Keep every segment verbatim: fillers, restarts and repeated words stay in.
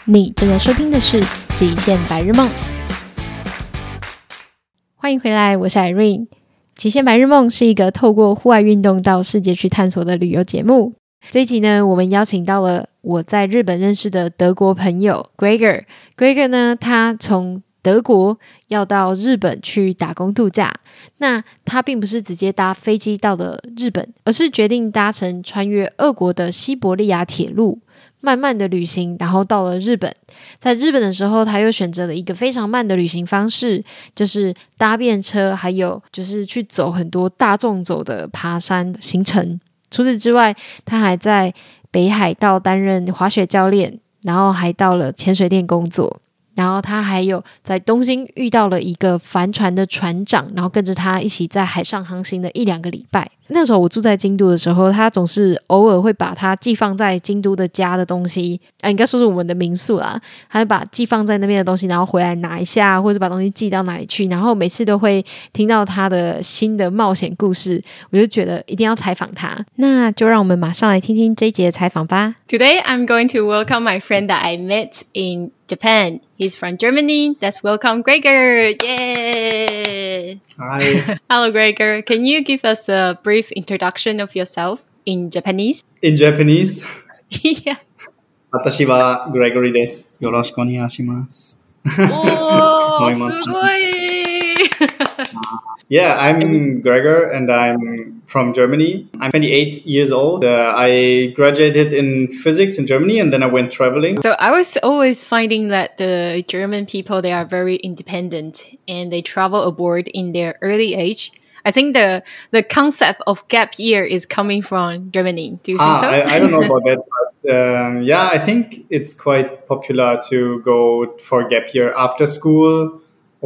你正在收聽的是《極限白日夢》，歡迎回來，我是 Irene。《極限白日夢》是一個透過戶外運動到世界去探索的旅遊節目。這一集呢，我們邀請到了我在日本認識的德國朋友 Gregor。Gregor 呢，他從德國要到日本去打工度假，那他並不是直接搭飛機到了日本，而是決定搭乘穿越俄國的西伯利亞鐵路，慢慢的旅行，然後到了日本。在日本的時候，他又選擇了一個非常慢的旅行方式，就是搭便車，還有就是去走很多大眾走的爬山行程。除此之外，他還在北海道擔任滑雪教練，然後還到了潛水店工作。然後他還有在東京遇到了一個帆船的船長，然後跟着他一起在海上航行了一兩個禮拜。那時候我住在京都的時候，他總是偶爾會把他寄放在京都的家的東西，啊，應該說是我們的民宿啦，他會把寄放在那邊的東西，然後回來拿一下，或者把東西寄到哪裡去。然後每次都會聽到他的新的冒險故事，我就覺得一定要採訪他。那就讓我們馬上來聽聽這一集的採訪吧。 Today I'm going to welcome my friend that I met in Japan. He's from Germany. Let's welcome Gregor. Yay! Hi. Hello, Gregor. Can you give us a brief introduction of yourself in Japanese? In Japanese? Yeah. 私は Gregory です。よろしくお願いします。 おー、すごい! Yeah, I'm Gregor and I'm from Germany. I'm twenty-eight years old. Uh, I graduated in physics in Germany and then I went traveling. So I was always finding that the German people, they are very independent and they travel abroad in their early age. I think the the concept of gap year is coming from Germany. Do you think ah, so? I, I don't know about that. But, um, yeah, I think it's quite popular to go for gap year after school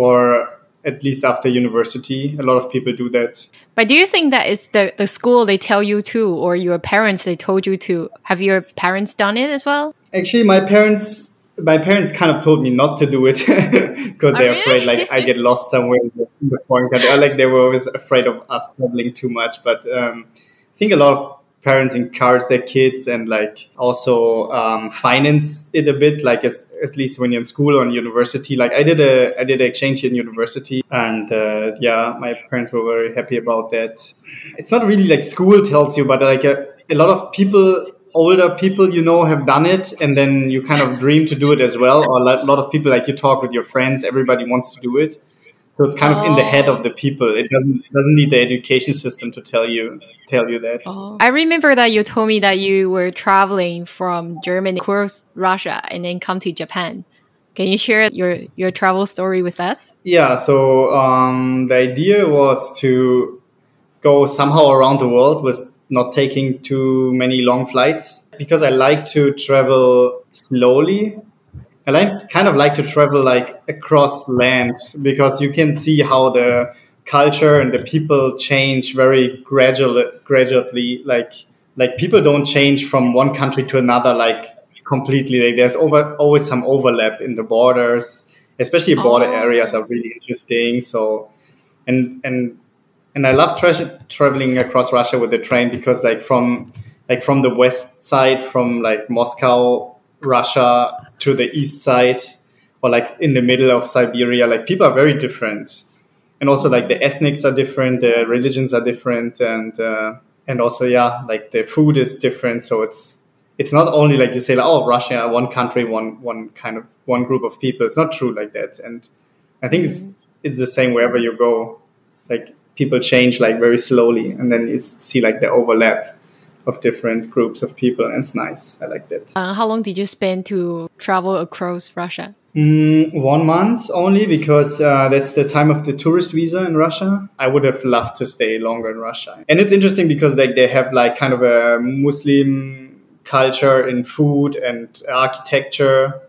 or at least after university. A lot of people do that. But do you think that it's the, the school they tell you to, or your parents they told you to? Have your parents done it as well? Actually, my parents my parents kind of told me not to do it because they're oh, afraid really? like I get lost somewhere in the, in the foreign country. Or, like they were always afraid of us traveling too much. But um, I think a lot of parents encourage their kids and like also um, finance it a bit, like as, at least when you're in school or in university. Like I did a I did an exchange in university, and uh, yeah, my parents were very happy about that. It's not really like school tells you, but like a, a lot of people, older people, you know, have done it, and then you kind of dream to do it as well. Or a lot of people, like you talk with your friends, everybody wants to do it. So it's kind of in the head of the people. It doesn't it doesn't need the education system to tell you tell you that. Oh. I remember that you told me that you were traveling from Germany across Russia and then come to Japan. Can you share your, your travel story with us? Yeah, so um, the idea was to go somehow around the world with not taking too many long flights. Because I like to travel slowly. I like, kind of like to travel like across land because you can see how the culture and the people change very gradually. Gradually, like like people don't change from one country to another like completely. Like there's over, always some overlap in the borders, especially border oh. areas are really interesting. So, and and and I love tra- traveling across Russia with the train because like from like from the west side, from like Moscow, Russia, to the east side or like in the middle of Siberia, like people are very different. And also like the ethnics are different, the religions are different. And, uh, and also, yeah, like the food is different. So it's, it's not only like you say, like, oh, Russia, one country, one, one kind of one group of people. It's not true like that. And I think it's, it's the same wherever you go, like people change like very slowly and then you see like the overlap of different groups of people, and it's nice. I like that. Uh, how long did you spend to travel across Russia? Mm, one month only because uh, that's the time of the tourist visa in Russia. I would have loved to stay longer in Russia. And it's interesting because like they have like kind of a Muslim culture in food and architecture.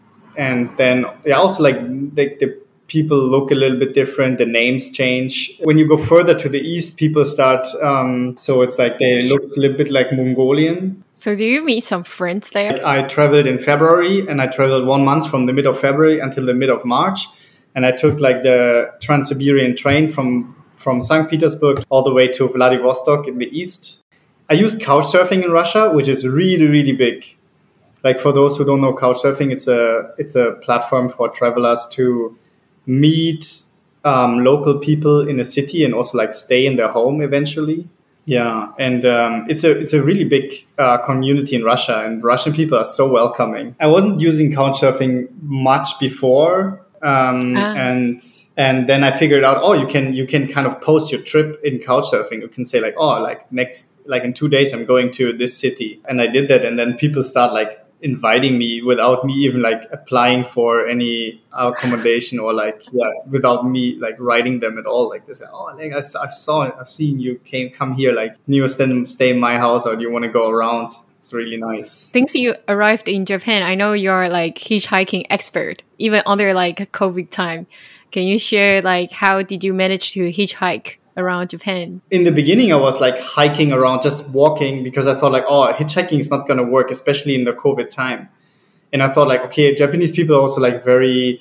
And then yeah, also like the, the people look a little bit different. The names change. When you go further to the east, people start, um, so it's like they look a little bit like Mongolian. So do you meet some friends there? Like I traveled in February and I traveled one month from the mid of February until the mid of March. And I took like the Trans-Siberian train from, from Saint Petersburg all the way to Vladivostok in the east. I used couch surfing in Russia, which is really, really big. Like for those who don't know Couchsurfing, it's a it's a platform for travelers to meet um, local people in a city and also like stay in their home eventually. Yeah, and um, it's a it's a really big uh, community in Russia, and Russian people are so welcoming. I wasn't using Couchsurfing much before, um, ah. and and then I figured out, oh, you can you can kind of post your trip in Couchsurfing. You can say like, oh, like next like in two days I'm going to this city, and I did that, and then people start like inviting me without me even like applying for any accommodation or like yeah without me like writing them at all. Like they say, oh, like I, I saw I've seen you came come here, like do you stay, stay in my house or do you want to go around? It's really nice. Since you arrived in Japan, I know you're like hitchhiking expert even under like COVID time. Can you share like how did you manage to hitchhike around Japan? In the beginning, I was like hiking around, just walking, because I thought like, oh, hitchhiking is not going to work, especially in the COVID time. And I thought like, okay, Japanese people are also like very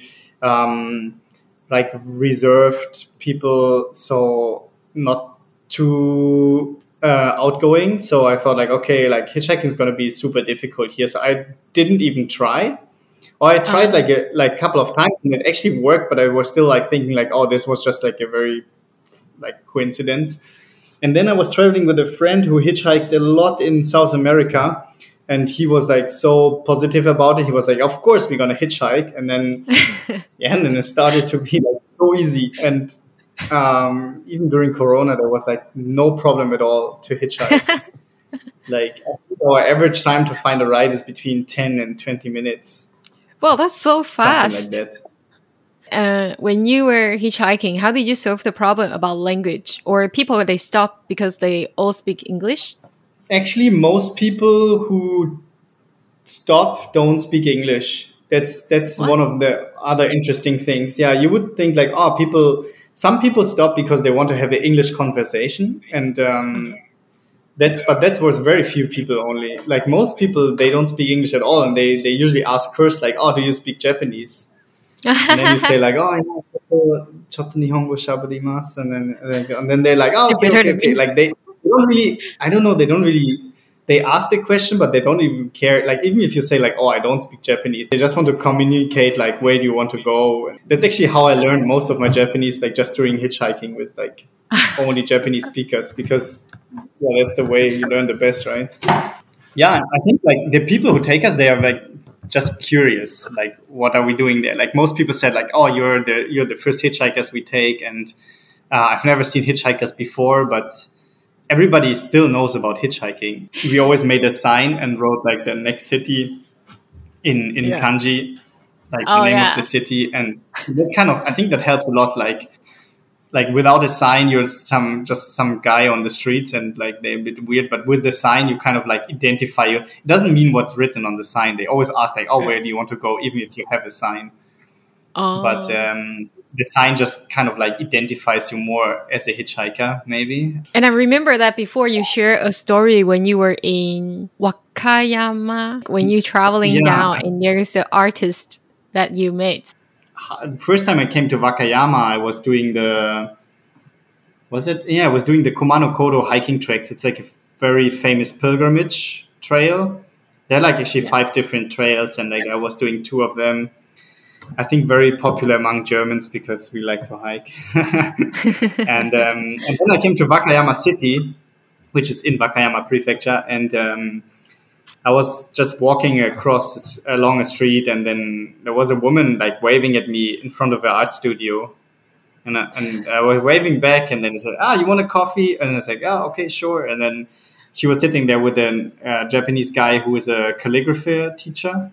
um, like reserved people, so not too uh, outgoing. So I thought like, okay, like hitchhiking is going to be super difficult here. So I didn't even try. Or I tried like a like couple of times and it actually worked, but I was still like thinking like, oh, this was just like a very like coincidence. And then I was traveling with a friend who hitchhiked a lot in South America, and he was like so positive about it. He was like, of course we're gonna hitchhike. And then yeah, and then it started to be like so easy. And um, even during Corona, there was like no problem at all to hitchhike. Like our average time to find a ride is between ten and twenty minutes. Well, that's so fast. Something like that. Uh, when you were hitchhiking, how did you solve the problem about language? Or people, they stop because they all speak English? Actually, most people who stop don't speak English. That's that's what? One of the other interesting things. Yeah, you would think like, oh, people, some people stop because they want to have an English conversation. And um, that's, but that was very few people only. Like most people, they don't speak English at all. And they, they usually ask first like, oh, do you speak Japanese? And then you say like, oh, yeah, chotto nihongo shabarimasu, and then and then they're like, oh, okay, okay, okay. Like they, they don't really, I don't know, they don't really, they ask the question, but they don't even care. Like even if you say like, oh, I don't speak Japanese, they just want to communicate like, where do you want to go? That's actually how I learned most of my Japanese, like just during hitchhiking with like only Japanese speakers, because yeah, that's the way you learn the best, right? Yeah, I think like the people who take us, they are like just curious, like what are we doing there? Like most people said like, oh, you're the you're the first hitchhikers we take, and uh, I've never seen hitchhikers before, but everybody still knows about hitchhiking. We always made a sign and wrote like the next city in in yeah. kanji, like oh, the name yeah. of the city, and that kind of, I think that helps a lot. Like like without a sign, you're some just some guy on the streets, and like they're a bit weird. But with the sign, you kind of like identify you. It doesn't mean what's written on the sign. They always ask like, "Oh, where do you want to go?" Even if you have a sign. Oh. But um, the sign just kind of like identifies you more as a hitchhiker, maybe. And I remember that before you shared a story when you were in Wakayama, when you traveling yeah. down, and there's an artist that you met. First time I came to Wakayama, I was doing the, was it? Yeah, I was doing the Kumano Kodo hiking tracks. It's like a very famous pilgrimage trail. There are like actually yeah. five different trails, and like I was doing two of them. I think very popular among Germans because we like to hike. and, um, and then I came to Wakayama City, which is in Wakayama Prefecture, and um, I was just walking across along a street, and then there was a woman like waving at me in front of her art studio, and I, and I was waving back, and then she said, "Ah, you want a coffee?" And I was like, "Oh, okay, sure." And then she was sitting there with a uh, Japanese guy who is a calligraphy teacher,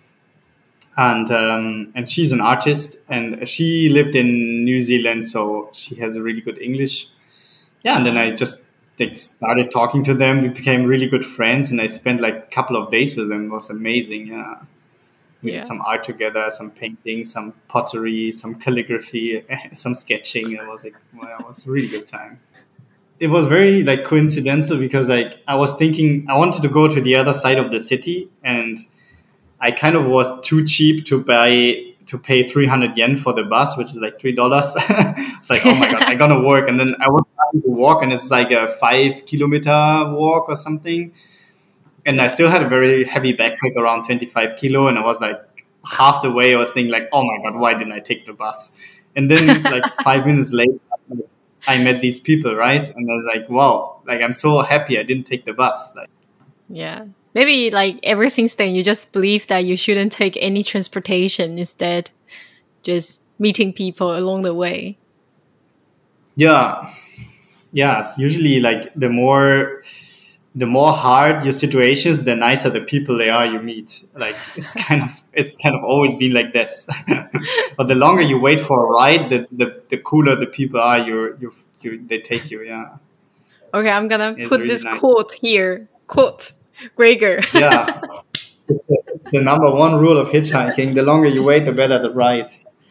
and um, and she's an artist, and she lived in New Zealand, so she has a really good English. Yeah, and then I just They started talking to them. We became really good friends, and I spent like a couple of days with them. It was amazing. Yeah. We yeah. did some art together, some painting, some pottery, some calligraphy, some sketching. It was like, well, it was a really good time. It was very like coincidental because like I was thinking I wanted to go to the other side of the city, and I kind of was too cheap to buy to pay three hundred yen for the bus, which is like three dollars. It's like, oh my God, I'm going to work. And then I was starting to walk, and it's like a five kilometer walk or something. And I still had a very heavy backpack, around twenty-five kilo. And I was like, half the way I was thinking like, oh my God, why didn't I take the bus? And then like five minutes later, I met these people, right? And I was like, wow, like I'm so happy I didn't take the bus. Like, yeah. Maybe like ever since then, you just believe that you shouldn't take any transportation, instead just meeting people along the way. Yeah. Yes. Usually like the more, the more hard your situations, the nicer the people they are you meet. Like it's kind of, it's kind of always been like this. But the longer you wait for a ride, the, the, the cooler the people are you, you, you, they take you. Yeah. Okay. I'm going to put really this nice. quote here. Quote. Gregor. Yeah. It's the, it's the number one rule of hitchhiking. The longer you wait, the better the ride.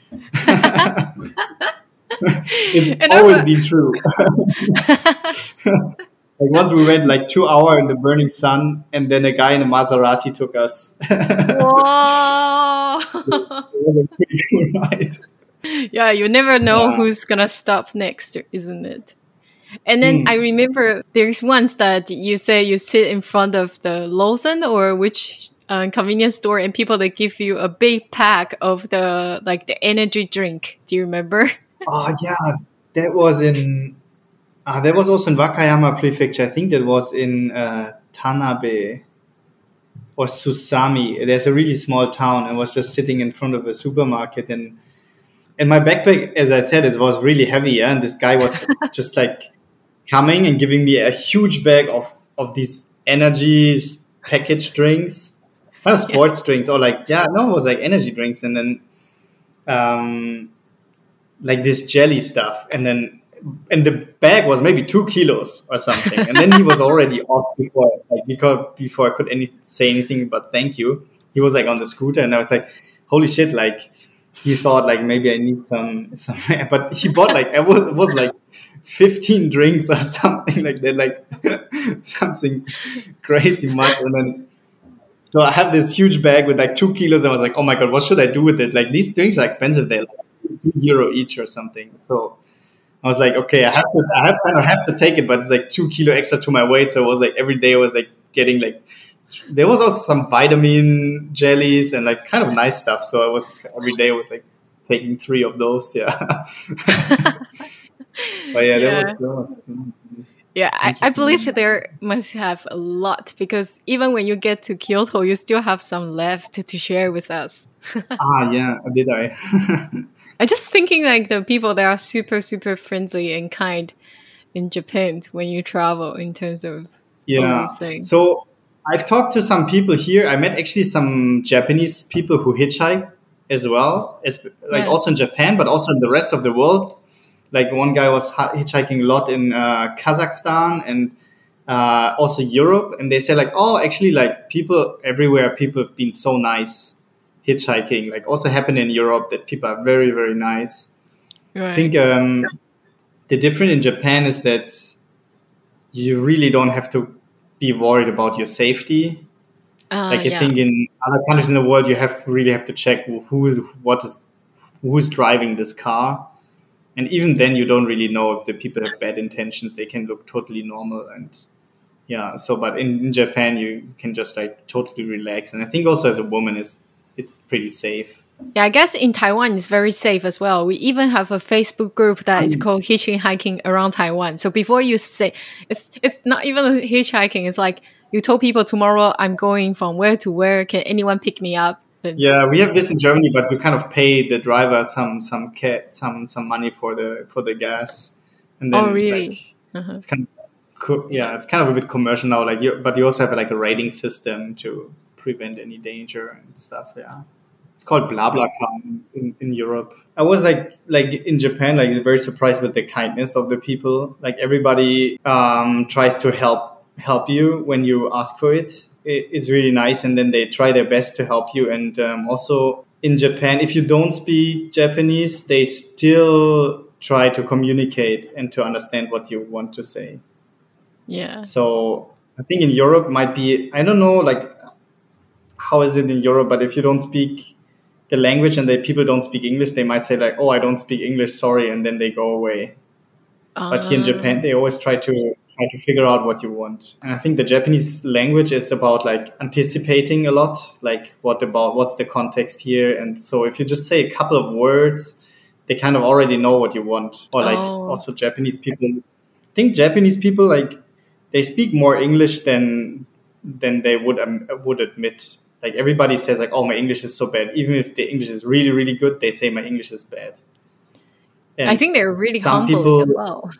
It's And always also- been true. Like once we went like two hours in the burning sun, and then a guy in a Maserati took us. Whoa. It was a pretty cool ride. Yeah, you never know Yeah. who's gonna stop next, isn't it? And then Hmm. I remember there's once that you say you sit in front of the Lawson or which uh, convenience store, and people they give you a big pack of the like the energy drink. Do you remember? Oh yeah, that was in. Uh, that was also in Wakayama Prefecture. I think that was in uh, Tanabe or Susami. There's a really small town. I was just sitting in front of a supermarket, and and my backpack, as I said, it was really heavy. Yeah? And this guy was just like coming and giving me a huge bag of of these energy packaged drinks, kind of sports drinks, or like yeah, no, it was like energy drinks, and then um, like this jelly stuff, and then. And the bag was maybe two kilos or something. And then he was already off before, like, because before I could any, say anything but thank you. He was like on the scooter, and I was like, holy shit, like he thought like maybe I need some, some but he bought like, it was, it was like fifteen drinks or something like that, like something crazy much. And then, so I have this huge bag with like two kilos. And I was like, oh my God, what should I do with it? Like these drinks are expensive. They're like two euro each or something. So I was like, okay, I have to, I have kind of have to take it, but it's like two kilo extra to my weight. So it was like every day I was like getting like, there was also some vitamin jellies and like kind of nice stuff. So I was every day I was like taking three of those. Yeah. But yeah, Yeah. that was, that was Yeah, I, I Interesting. believe there must have a lot, because even when you get to Kyoto, you still have some left to share with us. ah, yeah, did I? I'm just thinking like the people that are super, super friendly and kind in Japan when you travel in terms of Yeah. all these things. So I've talked to some people here. I met actually some Japanese people who hitchhike as well, as, like Yeah. also in Japan, but also in the rest of the world. Like one guy was hi- hitchhiking a lot in uh, Kazakhstan and uh, also Europe. And they say like, oh, actually like people everywhere, people have been so nice hitchhiking. Like also happened in Europe that people are very, very nice. Right. I think um, the difference in Japan is that you really don't have to be worried about your safety. Uh, Like I yeah. think in other countries in the world, you have really have to check who is what is who's driving this car, and even then, you don't really know if the people have bad intentions. They can look totally normal, and yeah. So, but in, in Japan, you can just like totally relax, and I think also as a woman, is it's pretty safe. Yeah, I guess in Taiwan it's very safe as well. We even have a Facebook group that is called Hitchhiking Around Taiwan. So before you say, it's it's not even hitchhiking. It's like you told people tomorrow I'm going from where to where. Can anyone pick me up? And Yeah, we have this in Germany, but you kind of pay the driver some some ca- some some money for the for the gas, and then Oh, really? like, Uh-huh. it's kind of co- yeah, it's kind of a bit commercial now. Like, you, but you also have like a rating system to prevent any danger and stuff. Yeah, it's called BlaBlaCar in, in Europe. I was like like in Japan, like very surprised with the kindness of the people. Like everybody um, tries to help help you when you ask for it. It is really nice, and then they try their best to help you. And um, also in Japan, if you don't speak Japanese, they still try to communicate and to understand what you want to say. Yeah. So I think in Europe might be, I don't know, like how is it in Europe, but if you don't speak the language and the people don't speak English, they might say like, oh, I don't speak English, sorry, and then they go away. But here in Uh, Japan, they always try to try to figure out what you want. And I think the Japanese language is about like anticipating a lot, like what about what's the context here. And so if you just say a couple of words, they kind of already know what you want. Or like Oh. also Japanese people, I think Japanese people like they speak more English than than they would um, would admit. Like everybody says like, oh, my English is so bad. Even if the English is really, really good, they say my English is bad. And I think they're really some humble people- as well.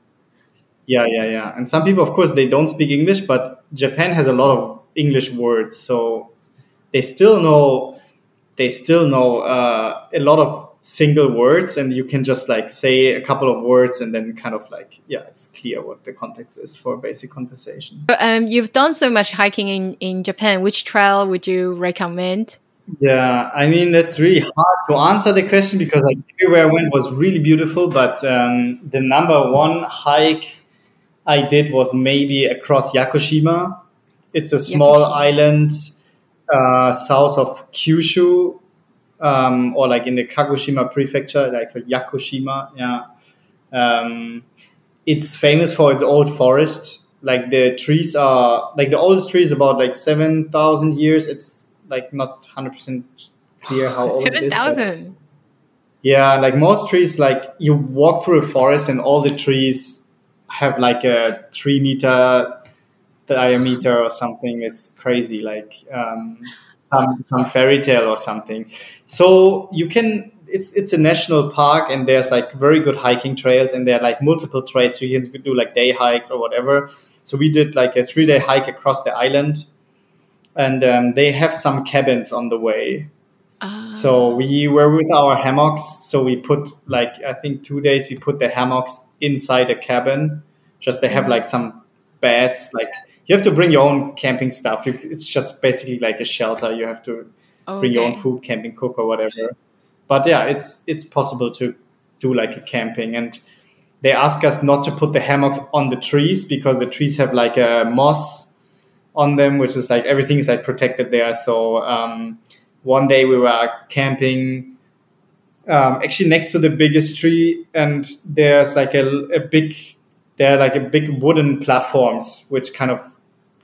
Yeah, yeah, yeah. And some people, of course, they don't speak English, but Japan has a lot of English words, so they still know they still know uh, a lot of single words, and you can just like say a couple of words, and then kind of like yeah, it's clear what the context is for a basic conversation. But, um, you've done so much hiking in, in Japan. Which trail would you recommend? Yeah, I mean that's really hard to answer the question because like everywhere I went was really beautiful, but um, the number one hike I did was maybe across Yakushima. It's a small Yakushima. island uh, south of Kyushu, um, or like in the Kagoshima prefecture, like so Yakushima. Yeah, um, it's famous for its old forest. Like the trees are like the oldest tree is about like seven thousand years. It's like not one hundred percent clear how old it Seven is. but- thousand. yeah, like most trees, like you walk through a forest and all the trees have like a three meter diameter or something. It's crazy, like um, some some fairy tale or something. So you can. It's it's a national park and there's like very good hiking trails and there are like multiple trails. So you can do like day hikes or whatever. So we did like a three day hike across the island, and um, they have some cabins on the way. Ah. So we were with our hammocks. So we put like, I think two days we put the hammocks inside a cabin. Just they have like some beds. Like you have to bring your own camping stuff. You, it's just basically like a shelter. You have to bring your own Okay. food, camping cook or whatever. But yeah, it's it's possible to do like a camping. And they ask us not to put the hammocks on the trees because the trees have like a moss on them, which is like everything is like protected there. So um, one day we were camping um, actually next to the biggest tree, and there's like a, a big there are like a big wooden platforms which kind of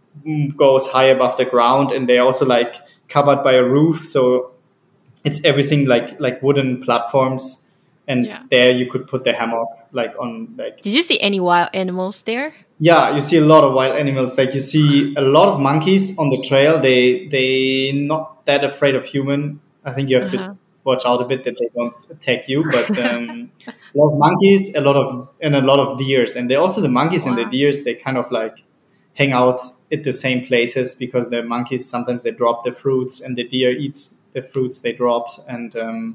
goes high above the ground, and they're also like covered by a roof. So it's everything like like wooden platforms, and Yeah. there you could put the hammock like on like Did you see any wild animals there? yeah, you see a lot of wild animals. Like you see a lot of monkeys on the trail. They they not that afraid of human. I think you have Uh-huh. to watch out a bit that they don't attack you. But um, a lot of monkeys, a lot of and a lot of deers, and they also the monkeys and the Wow. deers. They kind of like hang out at the same places because the monkeys sometimes they drop the fruits and the deer eats the fruits they dropped. And um,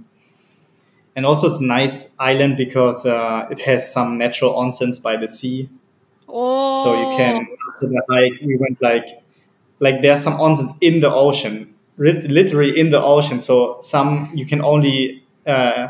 and also it's a nice island because uh, it has some natural onsens by the sea. Oh. So you can after the hike. We went like like there's some onsens in the ocean, lit- literally in the ocean. So some you can only uh,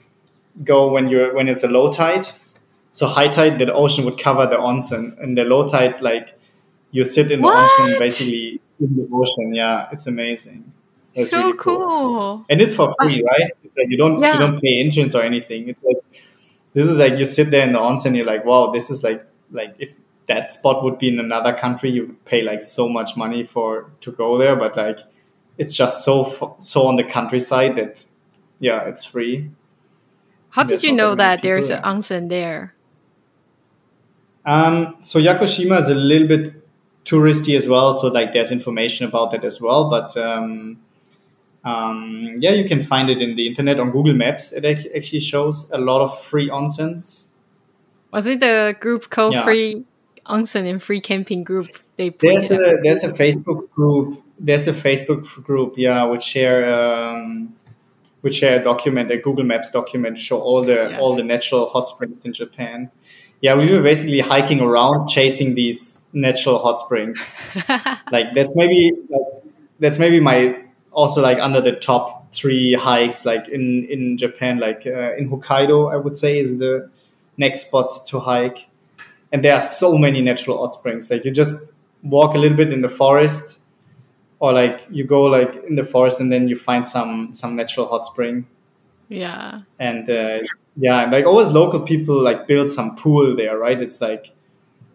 go when you're when it's a low tide. So high tide, the ocean would cover the onsen, and the low tide, like you sit in the What? onsen basically in the ocean. Yeah, it's amazing. It's So really cool. and it's for free, right? It's like you don't Yeah. you don't pay entrance or anything. It's like this is like you sit there in the onsen, you're like, wow, this is like like if that spot would be in another country, you would pay like so much money for to go there. But like it's just so f- so on the countryside that yeah, it's free. How did There's you not know that many that there's people an onsen there? Um, so Yakushima is a little bit touristy as well. So like there's information about that as well. But um, um, yeah, you can find it in the internet on Google Maps. It ac- actually shows a lot of free onsens. Was it the group called Yeah. Free Onsen and Free Camping Group? They put There's it a there's a Facebook group. There's a Facebook group. Yeah, which share um, which share a document, a Google Maps document, show all the Yeah. all the natural hot springs in Japan. Yeah, we were basically hiking around, chasing these natural hot springs. Like that's maybe like, that's maybe my also like under the top three hikes like in in Japan, like uh, in Hokkaido, I would say is the next spot to hike. And there are so many natural hot springs. Like you just walk a little bit in the forest, or like you go like in the forest and then you find some some natural hot spring. Yeah. And uh, yeah, and like always local people like build some pool there, right? It's like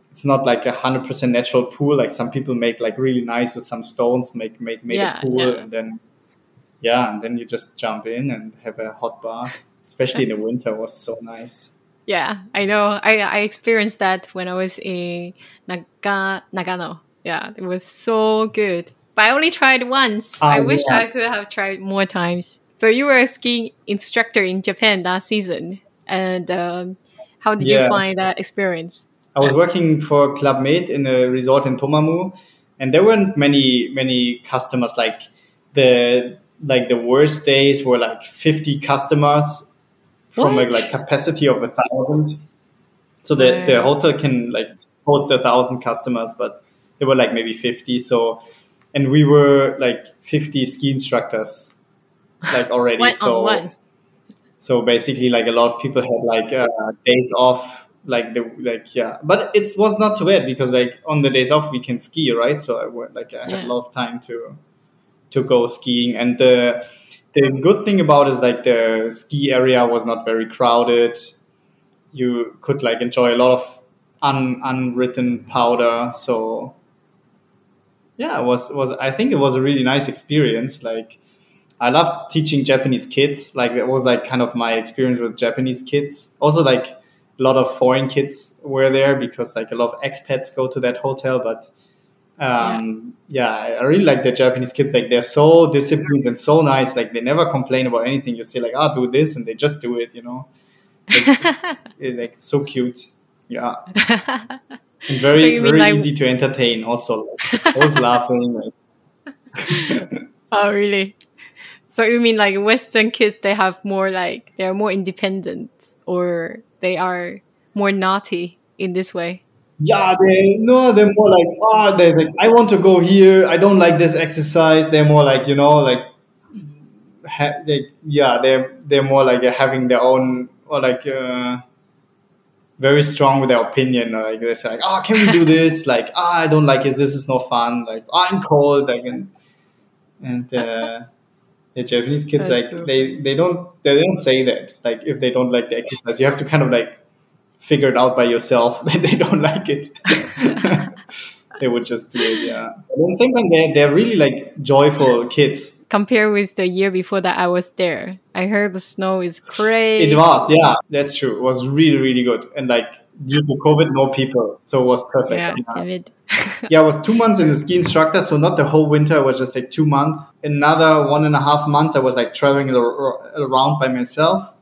it's not like a hundred percent natural pool. Like some people make like really nice with some stones, make make make Yeah, a pool, yeah. and then yeah, and then you just jump in and have a hot bath. Especially in the winter, was so nice. Yeah, I know. I, I experienced that when I was in Naga, Nagano. Yeah, it was so good. But I only tried once. Ah, I wish yeah. I could have tried more times. So you were a skiing instructor in Japan last season. And um, how did Yeah. you find that experience? I was working for Club Med in a resort in Tomamu, and there weren't many many customers. Like the like the worst days were like fifty customers from a What? like capacity of a thousand. So the, the Wow. hotel can like host a thousand customers, but there were like maybe fifty. So, and we were like fifty ski instructors, like already. One so, on one. so basically, like a lot of people had like uh, days off, like the like yeah. But it was not too bad because like on the days off we can ski, right? So I went like I had Yeah. a lot of time to to go skiing, and the the good thing about it is like the ski area was not very crowded. You could like enjoy a lot of un, unwritten powder. So yeah, it was was I think it was a really nice experience. Like I loved teaching Japanese kids. Like that was like kind of my experience with Japanese kids. Also like a lot of foreign kids were there because like a lot of expats go to that hotel. But um, yeah, I I really like the Japanese kids. Like they're so disciplined and so nice. Like they never complain about anything. You say like, "Ah, do this," and they just do it. You know, like, eh, like so cute. Yeah, and very So you mean very like- easy to entertain. Also, like, always laughing. Like, Oh, really? So you mean like Western kids, they have more like, they're more independent or they are more naughty in this way? yeah, they no, they're more like ah, they like I want to go here. I don't like this exercise. They're more like you know like, ha- like yeah, they're they're more like having their own or like. Uh, very strong with their opinion. Like they say, like, "Oh, can we do this?" Like, "Ah, I don't like it. This is no fun." Like, oh, "I'm cold." Like, and and uh, the Japanese kids, That's like so they they don't they don't say that. Like, if they don't like the exercise, you have to kind of like figure it out by yourself that they don't like it. They would just do it, yeah. But at the same time, they they're really like joyful kids. Compared with the year before that I was there, I heard the snow is crazy. It was, yeah, that's true. It was really, really good. And like due to COVID, no people, so it was perfect. Yeah, Yeah, damn it. yeah I was two months in the ski instructor, so not the whole winter. It was just like two months. Another one and a half months, I was like traveling ar- around by myself.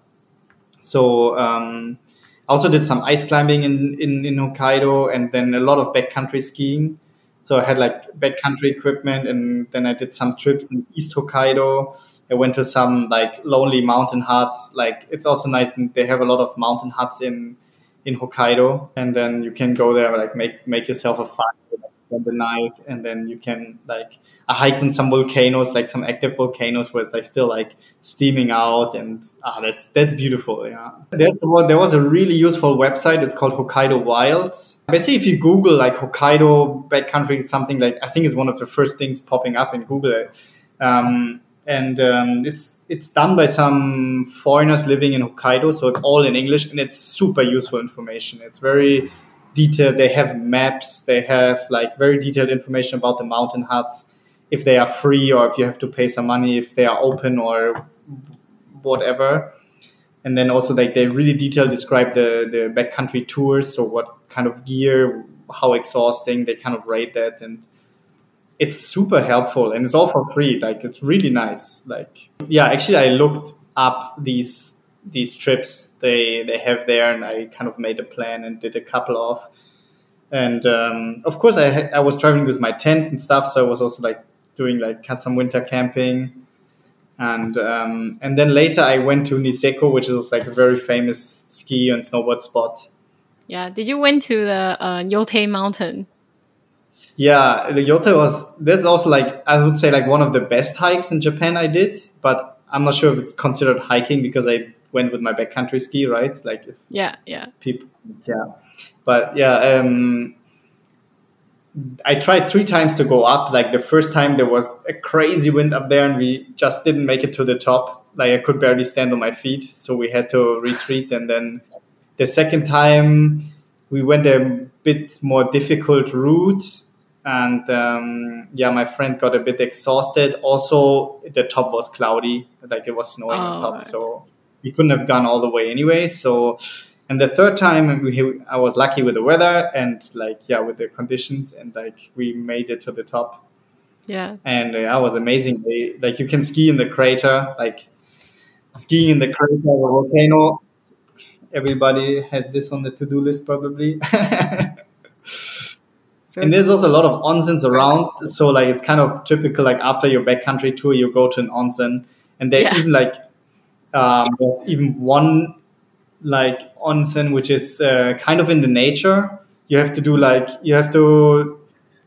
So um, I also did some ice climbing in, in, in Hokkaido, and then a lot of backcountry skiing. So I had like backcountry equipment, and then I did some trips in East Hokkaido. I went to some like lonely mountain huts. Like it's also nice, and they have a lot of mountain huts in in Hokkaido, and then you can go there, like make make yourself a fire like, spend the night, and then you can like I hiked on some volcanoes, like some active volcanoes, where it's like still like steaming out, and ah, that's that's beautiful. Yeah, there's what there was a really useful website. It's called Hokkaido Wilds. Basically, if you Google like Hokkaido backcountry, something like I think it's one of the first things popping up in Google. Um, and um, it's it's done by some foreigners living in Hokkaido, so it's all in English, and it's super useful information. It's very detailed. They have maps. They have like very detailed information about the mountain huts, if they are free or if you have to pay some money, if they are open or whatever. And then also like they really detailed describe the the backcountry tours, so what kind of gear, how exhausting, they kind of rate that, and it's super helpful, and it's all for free. Like it's really nice. Like yeah, actually I looked up these these trips they they have there, and I kind of made a plan and did a couple of. And um, of course I ha- I was traveling with my tent and stuff, so I was also like doing like some winter camping. And um, and then later I went to Niseko, which is like a very famous ski and snowboard spot. Yeah. Did you went to the uh, Yote Mountain? Yeah, the Yote was, that's also like, I would say like one of the best hikes in Japan I did, but I'm not sure if it's considered hiking because I went with my backcountry ski, right? Like if Yeah, yeah. people, yeah. But yeah, um, I tried three times to go up. Like the first time there was a crazy wind up there and we just didn't make it to the top. Like I could barely stand on my feet. So we had to retreat. And then the second time we went a bit more difficult route. And um, yeah, my friend got a bit exhausted. Also, the top was cloudy, like it was snowing Oh. on top. So we couldn't have gone all the way anyway. So, and the third time, we, I was lucky with the weather and like, yeah, with the conditions. And like we made it to the top. Yeah. And uh, that was amazing. They, like you can ski in the crater, like skiing in the crater of a volcano. Everybody has this on the to-do list probably. So And there's cool. also a lot of onsens around. So like it's kind of typical, like after your backcountry tour, you go to an onsen. And they Yeah. even like, um, there's even one like onsen, which is uh, kind of in the nature. You have to do like, you have to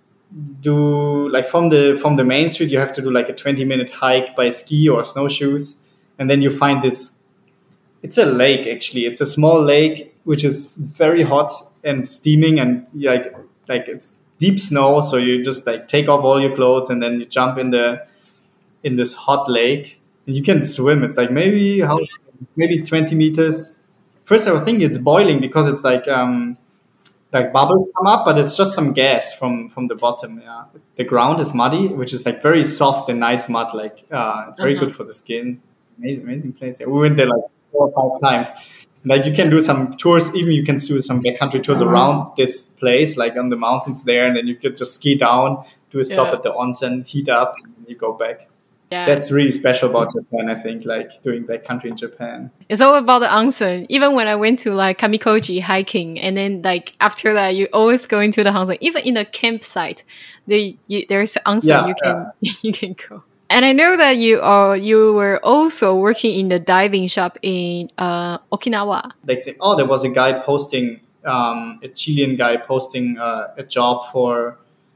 do like from the from the main street, you have to do like a twenty minute hike by ski or snowshoes. And then you find this, it's a lake actually. It's a small lake, which is very hot and steaming and like, like it's deep snow. So you just like take off all your clothes and then you jump in the, in this hot lake and you can swim. It's like maybe how, maybe twenty meters. First I was thinking it's boiling because it's like, um, like bubbles come up, but it's just some gas from, from the bottom. Yeah. The ground is muddy, which is like very soft and nice mud. Like, uh, it's very Uh-huh. good for the skin. Amazing, amazing place. Yeah, we went there like four or five times. Like you can do some tours, even you can do some backcountry tours around this place, like on the mountains there, and then you could just ski down, do a stop Yeah. at the onsen, heat up, and you go back. Yeah. That's really special about Japan, I think, like doing backcountry in Japan. It's all about the onsen. Even when I went to like Kamikoji hiking, and then like after that, you always go into the onsen. Even in the campsite, they you, there's an onsen Yeah, you can you can go. And I know that you are you were also working in the diving shop in uh, Okinawa. Like say, oh, there was a guy posting, um, a Chilean guy posting uh, a job for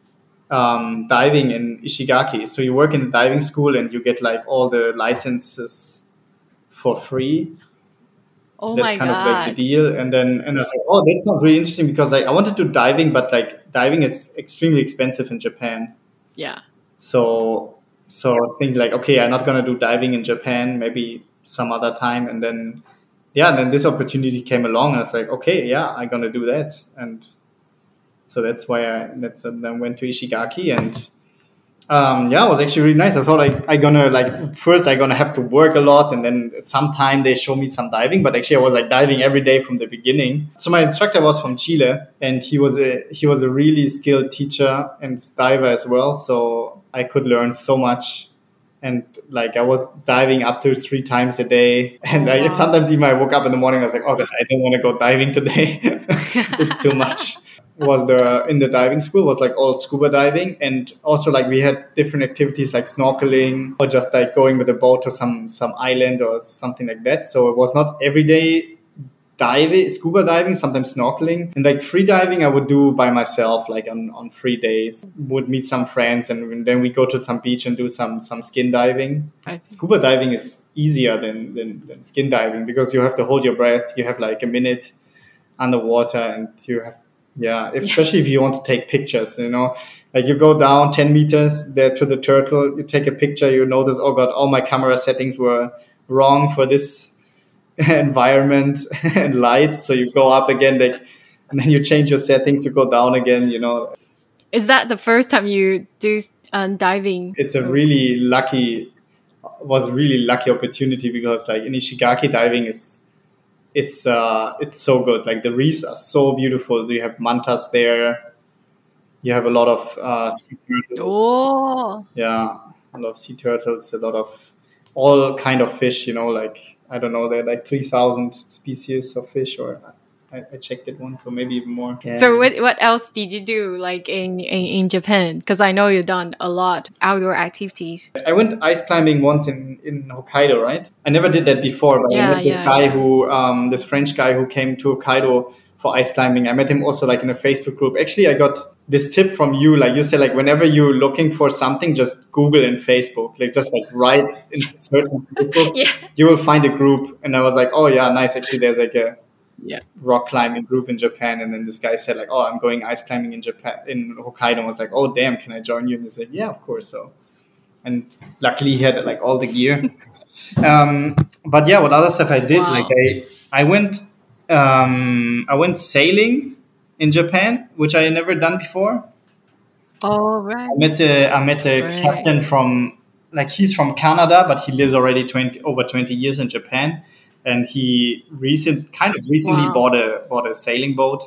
um, diving in Ishigaki. So you work in the diving school and you get like all the licenses for free. Oh That's my kind of like the god! deal. And then and I was like, oh, that sounds really interesting because like I wanted to do diving, but like diving is extremely expensive in Japan. Yeah, So so I was thinking like, okay, I'm not gonna do diving in Japan, maybe some other time. And then yeah, and then this opportunity came along. And I was like, okay, yeah, I'm gonna do that. And so that's why I that's then went to Ishigaki and um, yeah, it was actually really nice. I thought like I gonna like first I gonna have to work a lot and then sometime they show me some diving, but actually I was like diving every day from the beginning. So my instructor was from Chile and he was a he was a really skilled teacher and diver as well. So I could learn so much. And like I was diving up to three times a day, and Oh, I, wow. sometimes even I woke up in the morning, I was like, "Oh, God, I don't want to go diving today. It's too much." Was the in the diving school was like all scuba diving, and also like we had different activities like snorkeling or just like going with a boat to some some island or something like that. So it was not every day diving, scuba diving, sometimes snorkeling, and like free diving I would do by myself, like on, on free days. Would meet some friends, and then we go to some beach and do some some skin diving. I see. Scuba diving is easier than, than than skin diving because you have to hold your breath. You have like a minute underwater, and you have yeah, especially if you want to take pictures. You know, like you go down ten meters there to the turtle, you take a picture, you notice, oh God, all my camera settings were wrong for this environment and light, so you go up again, like, and then you change your settings, you go down again. You know, Is that the first time you do um, diving? it's a really lucky, was a really lucky opportunity because like in Ishigaki diving is, it's uh, it's so good. Like the reefs are so beautiful. You have mantas there. You have a lot of uh, sea turtles. Oh, Yeah, a lot of sea turtles. A lot of all kind of fish. You know, like I don't know, there are like three thousand species of fish, or I, I checked it once, or maybe even more. Yeah. so what what else did you do like in in, in Japan? Because I know you've done a lot outdoor activities. I went ice climbing once in, in Hokkaido, right? I never did that before, but Yeah, I met this yeah, guy yeah. who, um, this French guy who came to Hokkaido for ice climbing. I met him also like in a Facebook group. Actually, I got this tip from you. Like you said, like whenever you're looking for something, just Google in Facebook. Like just like write in search in Facebook, Yeah. you will find a group. And I was like, oh yeah, nice. Actually, there's like a Yeah. rock climbing group in Japan. And then this guy said like, oh, I'm going ice climbing in Japan, in Hokkaido. I was like, oh damn, can I join you? And he said, yeah, of course. So, and luckily he had like all the gear. um, but yeah, what other stuff I did? Wow. Like I, I went, um, I went sailing in Japan, which I never done before. Oh, right. I met the I met the Right. captain from, like, he's from Canada, but he lives already twenty over twenty years in Japan, and he recent kind of recently Wow. bought a bought a sailing boat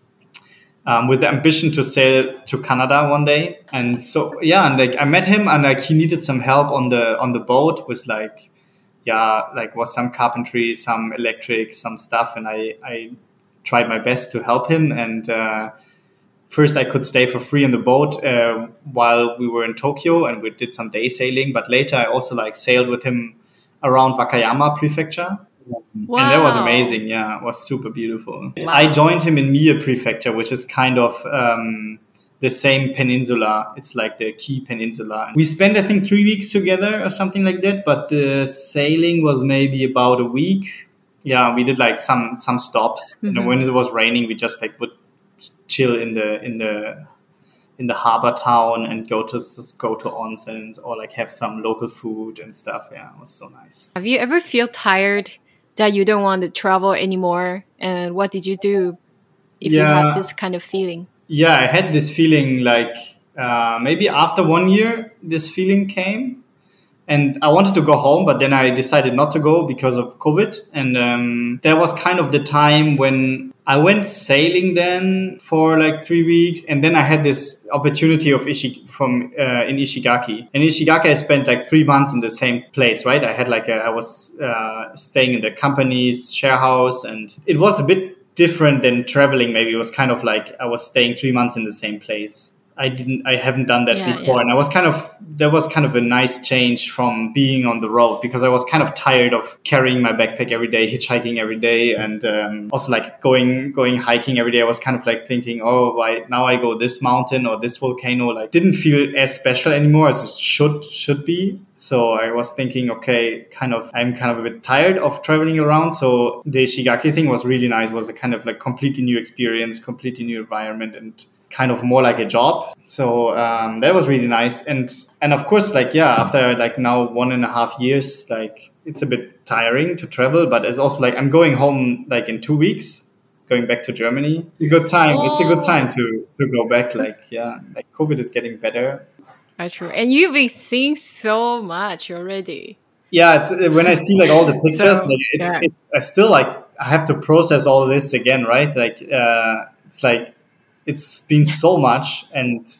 um, with the ambition to sail to Canada one day. And so yeah, and like I met him, and like he needed some help on the on the boat with like yeah like was some carpentry, some electric, some stuff, and I I tried my best to help him. And uh, first I could stay for free in the boat uh, while we were in Tokyo, and we did some day sailing. But later I also like sailed with him around Wakayama Prefecture. Wow. And that was amazing. Yeah, it was super beautiful. Wow. I joined him in Mie Prefecture, which is kind of um, the same peninsula. It's like the Kii Peninsula. We spent, I think, three weeks together or something like that. But the sailing was maybe about a week. Yeah, we did like some some stops. Mm-hmm. You know, when it was raining, we just like would chill in the in the in the harbor town and go to go to onsens or like have some local food and stuff. Yeah, it was so nice. Have you ever feel tired that you don't want to travel anymore? And what did you do if yeah. you had this kind of feeling? Yeah, I had this feeling like uh, maybe after one year, this feeling came. And I wanted to go home, but then I decided not to go because of COVID. And um, that was kind of the time when I went sailing then for like three weeks. And then I had this opportunity of Ishi- from uh, in Ishigaki. In Ishigaki, I spent like three months in the same place, right? I had like a, I was uh, staying in the company's share house, and it was a bit different than traveling. Maybe it was kind of like I was staying three months in the same place. I didn't, I haven't done that yeah, before. Yeah. And I was kind of, that was kind of a nice change from being on the road, because I was kind of tired of carrying my backpack every day, hitchhiking every day. And um, also like going, going hiking every day. I was kind of like thinking, oh, why now I go this mountain or this volcano, like didn't feel as special anymore as it should, should be. So I was thinking, okay, kind of, I'm kind of a bit tired of traveling around. So the Ishigaki thing was really nice. It was a kind of like completely new experience, completely new environment, and kind of more like a job. So um, that was really nice. And and of course, like, yeah, after like now one and a half years, like it's a bit tiring to travel, but it's also like I'm going home like in two weeks, going back to Germany. A good time. Oh. It's a good time to, to go back. Like, yeah, like COVID is getting better. That's true. And you've been seeing so much already. Yeah, it's when I see like all the pictures, so, like it's, yeah. it's I still like I have to process all this again, right? Like uh, it's like it's been so much, and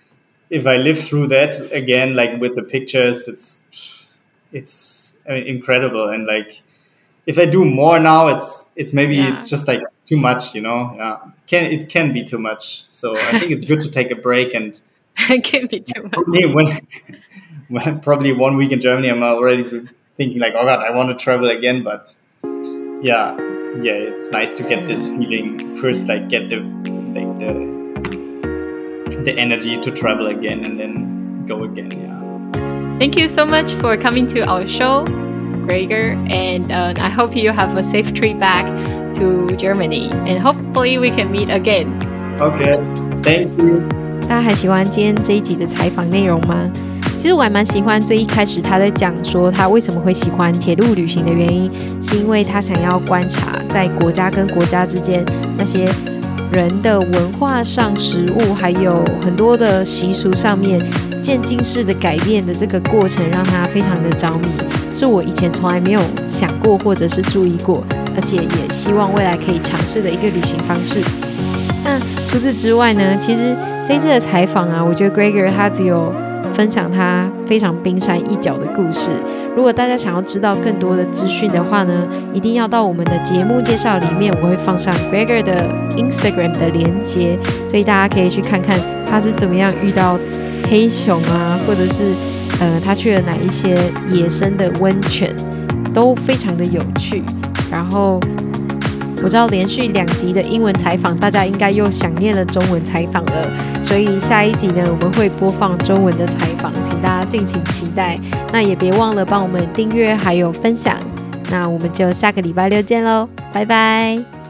if I live through that again, like with the pictures, it's it's I mean, incredible. And like if I do more now, it's it's maybe yeah. it's just like too much, you know. Yeah, can it can be too much. So I think it's good to take a break and. It can be too much. When, when probably one week in Germany, I'm already thinking like, oh God, I want to travel again. But yeah, yeah, it's nice to get this feeling first, like get the like the the energy to travel again and then go again. Yeah. Thank you so much for coming to our show, Gregor, and uh, I hope you have a safe trip back to Germany, and hopefully we can meet again. Okay, thank you. 大家還喜歡今天這一集的採訪內容嗎？其實我還蠻喜歡最一開始他在講說他為什麼會喜歡鐵路旅行的原因，是因為他想要觀察在國家跟國家之間那些人的文化上、食物還有很多的習俗上面漸進式的改變的這個過程，讓他非常的着迷，是我以前從來沒有想過或者是注意過，而且也希望未來可以嘗試的一個旅行方式。那除此之外呢，其實這一次的採訪啊，我覺得 Gregor 他只有分享他非常冰山一角的故事。如果大家想要知道更多的資訊的話呢，一定要到我們的節目介紹裡面，我會放上 Gregor 的 Instagram 的連結，所以大家可以去看看他是怎麼樣遇到黑熊啊，或者是呃他去了哪一些野生的溫泉，都非常的有趣。然後我知道連續兩集的英文採訪，大家應該又想念了中文採訪了，所以下一集呢，我們會播放中文的採訪，請大家敬請期待。那也別忘了幫我們訂閱還有分享。那我們就下個禮拜六見嘍，拜拜。